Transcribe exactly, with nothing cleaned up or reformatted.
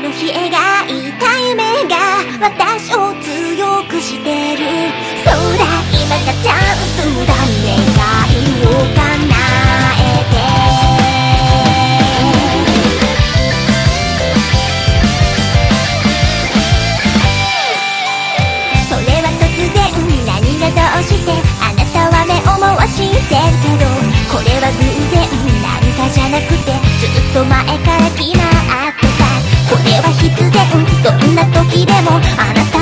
の日描いた夢が私を強くしてる。そうだ今がチャンスだ、願いを叶えて。それは突然何がどうしてあなたは目を回してるけど、これは偶然なんかじゃなくてずっと前から決まってた。これは必然どんな時でもあなた